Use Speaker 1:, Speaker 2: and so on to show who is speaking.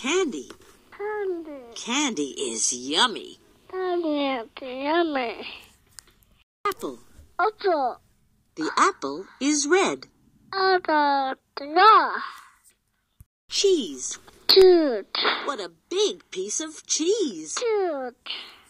Speaker 1: candy.
Speaker 2: Candy.
Speaker 1: Candy is yummy.
Speaker 2: Candy is yummy.
Speaker 1: Apple.
Speaker 2: Apple.
Speaker 1: The apple is red.
Speaker 2: Apple. Yeah.
Speaker 1: Cheese.
Speaker 2: Cute.
Speaker 1: What a big piece of cheese.
Speaker 2: Cute.